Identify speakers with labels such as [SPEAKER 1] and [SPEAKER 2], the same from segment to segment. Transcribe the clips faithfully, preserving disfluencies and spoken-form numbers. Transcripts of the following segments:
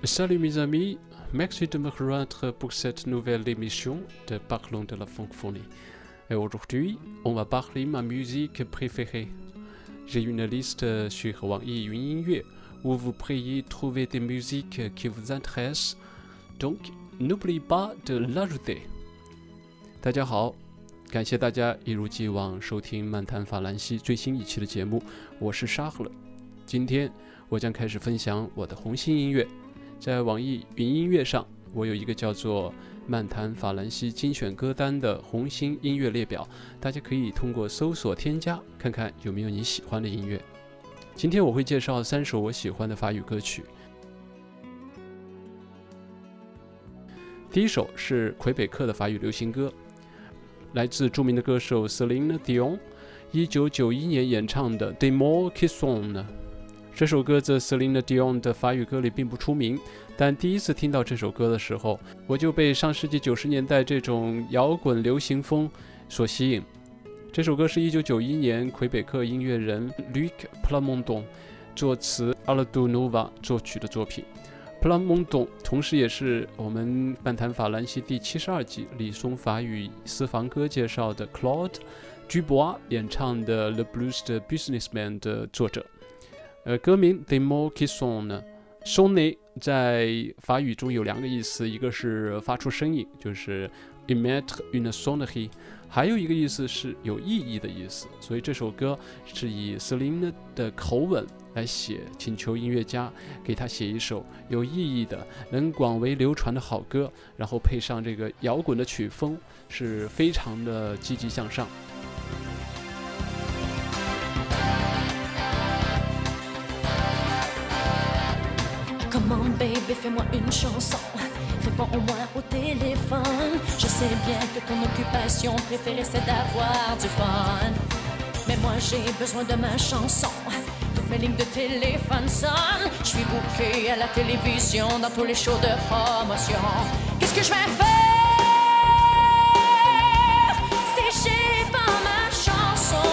[SPEAKER 1] Salut mes amis, merci de me rejoindre pour cette nouvelle émission de Parlons de la francophonie. Et aujourd'hui, on va parler de ma musique préférée. J'ai une liste sur网易云音乐 où vous pourriez trouver des musiques qui vous intéressent, donc n'oubliez pas de l'ajouter. 大家好，感谢大家一如既往收听漫谈法兰西最新一期的节目，我是沙赫勒。今天我将开始分享我的红心音乐。在网易云音乐上，我有一个叫做漫谈法兰西精选歌单的红心音乐列表，大家可以通过搜索添加，看看有没有你喜欢的音乐。今天我会介绍三首我喜欢的法语歌曲。第一首是魁北克的法语流行歌，来自著名的歌手 Céline Dion 一九九一年演唱的 Des mots qui sonnent。这首歌在 Céline Dion 的法语歌里并不出名，但第一次听到这首歌的时候，我就被上世纪九十年代这种摇滚流行风所吸引。这首歌是一九九一年魁北克音乐人 Luc Plamondon 作词 Aladou Nova 作曲的作品。Plamondon 同时也是我们漫谈法兰西第七十二集李松法语私房歌介绍的 Claude Dubois 演唱的 Le Blues 的 Businessman 的作者。呃，歌名 Des mots qui sonnent sonner 在法语中有两个意思，一个是发出声音，就是 émettre une sonnerie， 还有一个意思是有意义的意思。所以这首歌是以 Céline 的口吻来写，请求音乐家给他写一首有意义的、能广为流传的好歌，然后配上这个摇滚的曲风，是非常的积极向上。
[SPEAKER 2] Comment baby, fais-moi une chanson, réponds au moins au téléphone. Je sais bien que ton occupation préférée c'est d'avoir du fun, mais moi j'ai besoin de ma chanson. Toutes mes lignes de téléphone sonnent. Je suis booké à la télévision dans tous les shows de promotion. Qu'est-ce que je vais faire si j'ai pas ma chanson?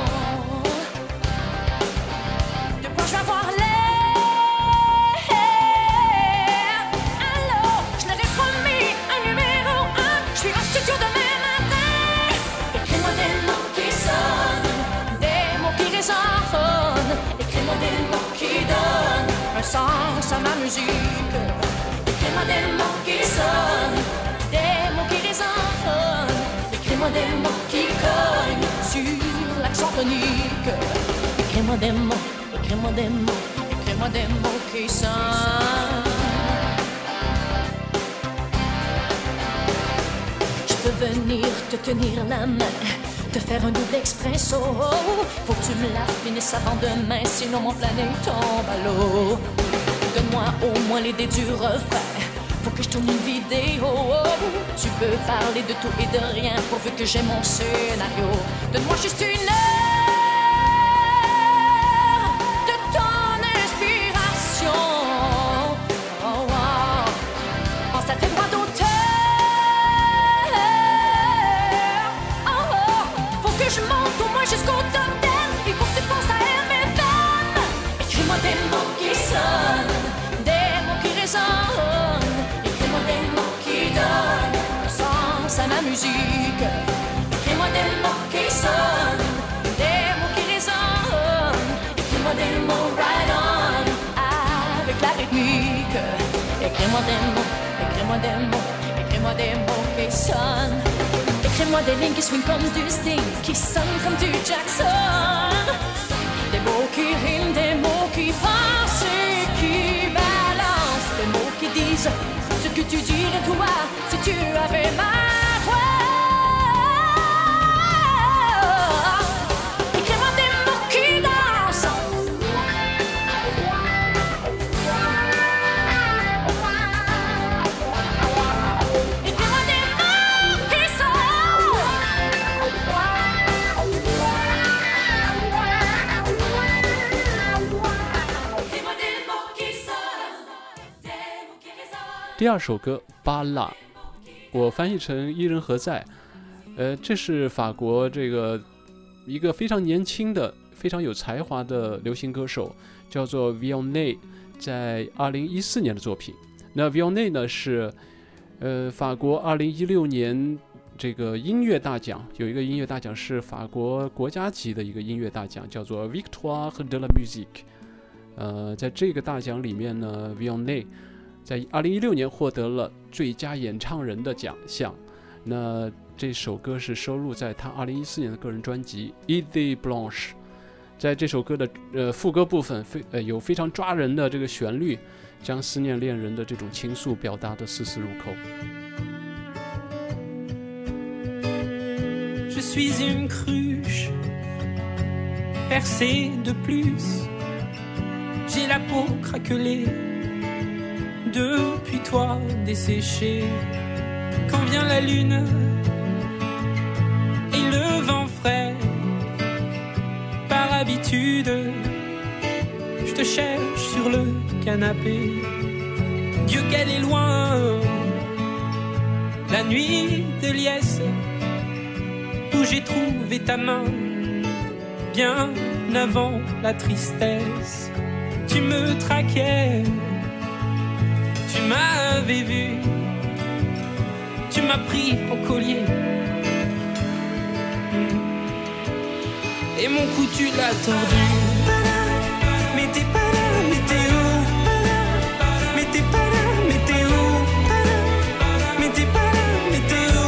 [SPEAKER 2] De quoi je vais avoir l'air? Un sens à ma musique. Écris-moi des mots qui sonnent, des mots qui résonnent. Écris-moi des mots qui cognent sur l'accent tonique. Écris-moi des mots, écris-moi des mots, écris-moi des mots qui sonnent. Je peux venir te tenir la main, te faire un double expresso. Faut que tu me la finisses avant demain, sinon mon planning tombe à l'eau. Donne-moi au moins l'idée du refrain, faut que je tourne une vidéo. Tu peux parler de tout et de rien, pourvu que j'ai mon scénario. Donne-moi juste une heure de ton inspiration. Oh, oh. Pense à tes droits d'auteur. Je monte au moins jusqu'au top dix. Il faut que tu penses à elle, mes femmes. Écris-moi des mots qui sonnent, des mots qui résonnent. Écris-moi des mots qui donnent un sens à ma musique. Écris-moi des mots qui sonnent, des mots qui résonnent. Écris-moi des mots right on, avec la rythmique. Écris-moi des mots, écris-moi des mots, écris-moi des mots qui sonnent. Écris-moi des lignes qui swingent comme du Sting, qui sonnent comme du Jackson. Des mots qui riment, des mots qui pensent et qui balancent. Des mots qui disent ce que tu dirais toi si tu avais ma voix. Écris-moi des mots qui dansent. Écris-moi des mots qui sonnent. Écris-moi des mots qui sonnent, des mots qui résonnent.
[SPEAKER 1] 第二首歌巴拉，我翻译成伊人何在。呃，这是法国这个一个非常年轻的、非常有才华的流行歌手，叫做 Vianney 在二零一四年的作品。那 Vianney 呢是呃法国二零一六年这个音乐大奖，有一个音乐大奖是法国国家级的一个音乐大奖，叫做 Victoire de la Musique。呃，在这个大奖里面呢 ，Vianney 在二零一六年获得了最佳演唱人的奖项。那这首歌是收录在他二零一四年的个人专辑《Idée Blanche》。在这首歌的呃副歌部分，非呃有非常抓人的这个旋律，将思念恋人的这种情愫表达得丝丝入扣。
[SPEAKER 3] Je suis une cruche percée de plus. J'ai la peau craquelée depuis toi desséchée. Quand vient la lune et le vent frais, par habitude, je te cherche sur le canapé. Dieu qu'elle est loin, la nuit de liesse, où j'ai trouvé ta main, bien avant la tristesse. Tu me traquais, tu m'avais vu, tu m'as pris au collier, et mon cou tu l'as tordu. Mais t'es pas là, mais t'es où? Mais t'es pas là, mais t'es où? Mais t'es pas là, mais t'es où?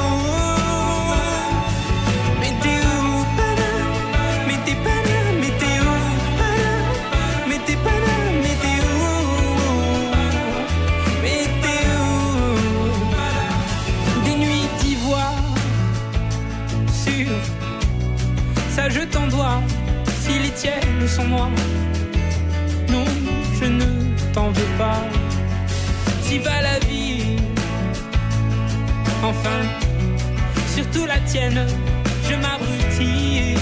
[SPEAKER 3] Mais t'es où? Mais t'es pas là, mais t'es où? Mais t'es pas là, mais t'es où? Mais t'es où? Des nuits d'ivoire sur ça je t'en dois, si les tiennes sont noires. Non, je ne t'en veux pas. Si va la vie, enfin, surtout la tienne, je m'abrutis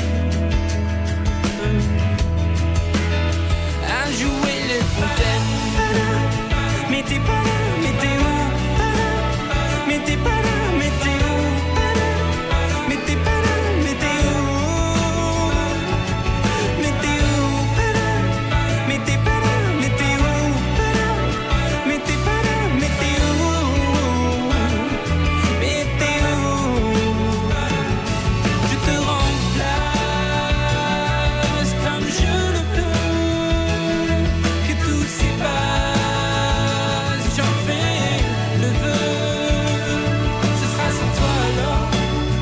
[SPEAKER 3] à jouer les fontaines. Mais t'es pas là, mais t'es où? Mais t'es pas là, mais t'es où? Mais t'es pas là, mais t'es où? Mais t'es où? Mais t'es pas là, mais t'es où? Mais t'es pas là, mais t'es où? Mais t'es où? Je te remplace comme je le peux, que tout s'efface, j'en fais le vœu. Ce sera sans toi alors,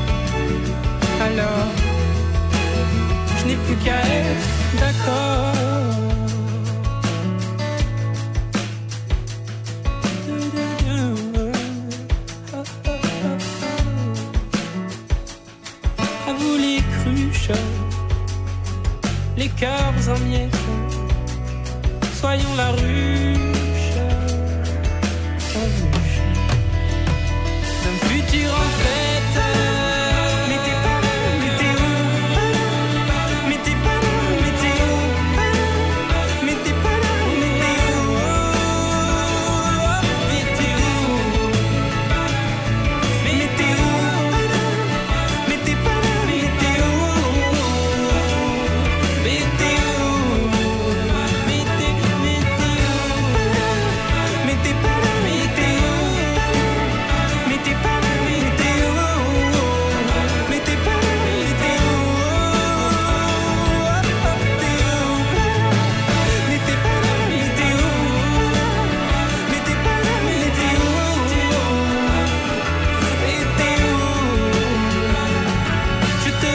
[SPEAKER 3] alors je n'ai plus qu'à être d'accord. À vous les cruches, les cœurs en miettes, soyons la ruche, la ruche d'un futur en fête. Mais t'es pas là, mais t'es où? Mais t'es pas là, mais t'es où? Mais t'es pas là, mais t'es où? Mais t'es où? Mais t'es où? Mais t'es pas là, mais t'es où? Mais t'es où? Mais t'es, mais t'es où? Mais t'es pas là, mais t'es où? Mais t'es pas là, mais t'es où? Mais t'es pas là, mais t'es où? T'es où? Mais t'es pas là, mais t'es où? Mais t'es pas là, mais t'es où? Mais t'es où? Je te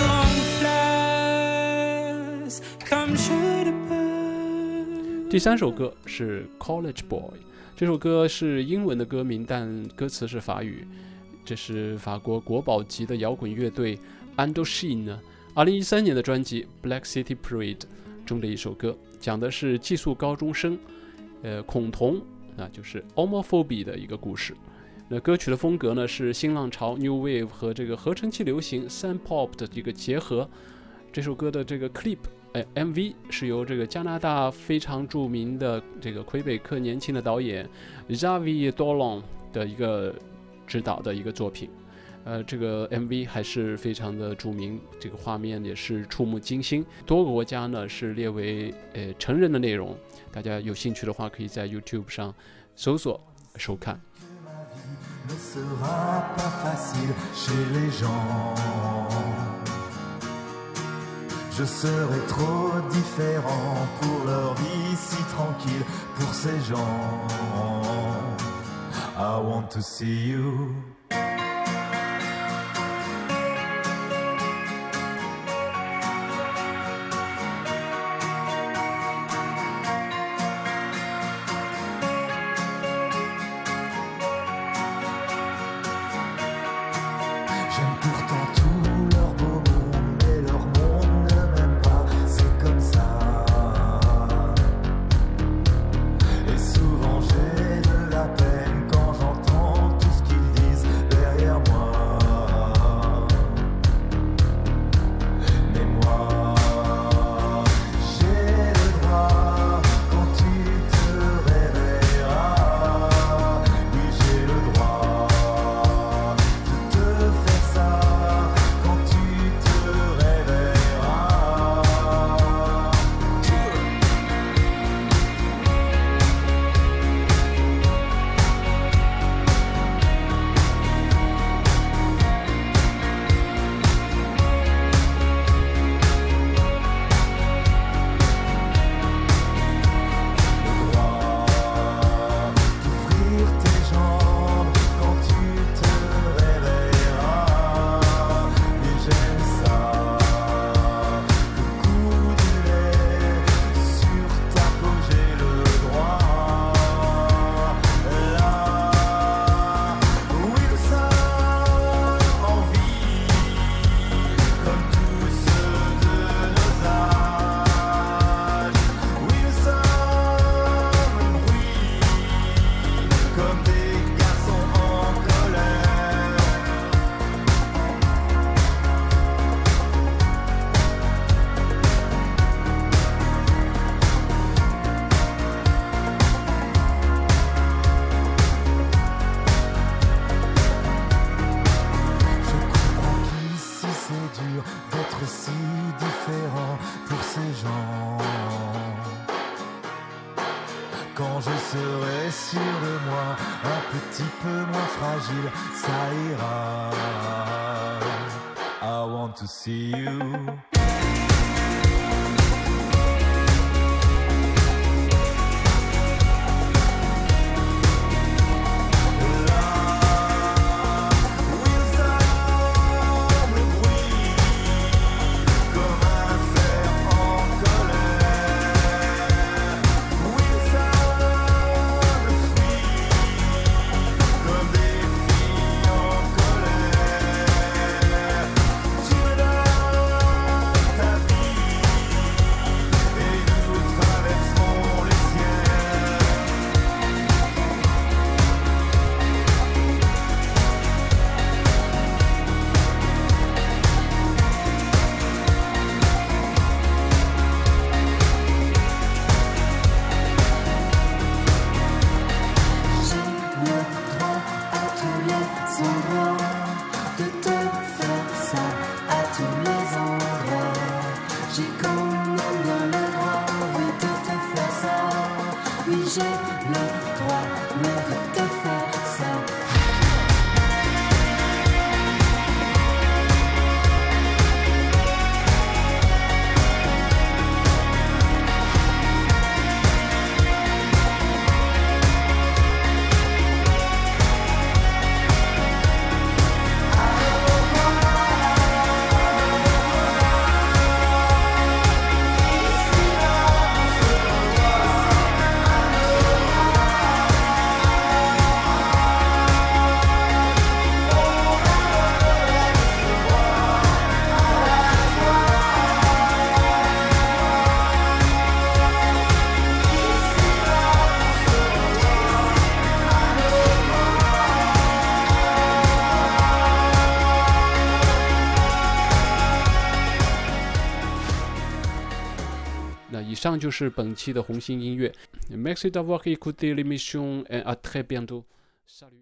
[SPEAKER 3] remplace comme je le peux.
[SPEAKER 1] 第三首歌是 College Boy， 这首歌是英文的歌名，但歌词是法语。这是法国国宝级的摇滚乐队 Indochine二零一三年的专辑 Black City Parade 中的一首歌，讲的是寄宿高中生呃恐同啊，就是 homophobia 的一个故事。那歌曲的风格呢是新浪潮 New Wave 和这个合成器流行 Sand Pop 的一个结合。这首歌的这个 clip， 哎 M V 是由这个加拿大非常著名的这个魁北克年轻的导演 Xavier Dolan 的一个指导的一个作品。 呃，这个 M V 还是非常的著名，这个画面也是触目惊心。多个国家呢是列为呃成人的内容，大家有兴趣的话，可以在 YouTube 上搜索收看。
[SPEAKER 4] Ne sera pas facile chez les gens. Je serai trop différent pour leur vie si tranquille, pour ces gens. I want to see you. J'aime pourtant tout leur beau monde, mais leur monde ne m'aime pas, c'est comme ça. Et souvent j'ai de la peine quand j'entends tout ce qu'ils disent derrière moi. Mais moi, j'ai le droit quand tu te réveilleras. Oui, j'ai le droit de te faire ça quand tu te réveilleras. Le droit d'ouvrir tes jambes quand tu te réveilleras. Et j'aime ça, le coup du lait sur ta peau, j'ai le droit. Là, oui, nous sommes en vie, comme tous ceux de nos âges. Oui, nous sommes, oui, comme des garçons en colère. Je comprends qu'ici c'est dur d'être si différent pour ces gens. Quand je serai sûr de moi, un petit peu moins fragile, ça ira. I want to see you. Oui, nous sommes le bruit, comme un cerf en colère. Oui, nous sommes le fruit, comme des filles en colère. Tu me donnes ta vie, et nous traverserons les ciels.
[SPEAKER 2] J'ai le droit à tous les endroits de te faire ça à tous les endroits. J'ai quand même bien le droit, oui, de te faire ça. Oui, j'ai le droit, mais de te faire ça.
[SPEAKER 1] 那以上就是本期的红星音乐。Merci d'avoir écouté l'émission et à très bientôt. Salut.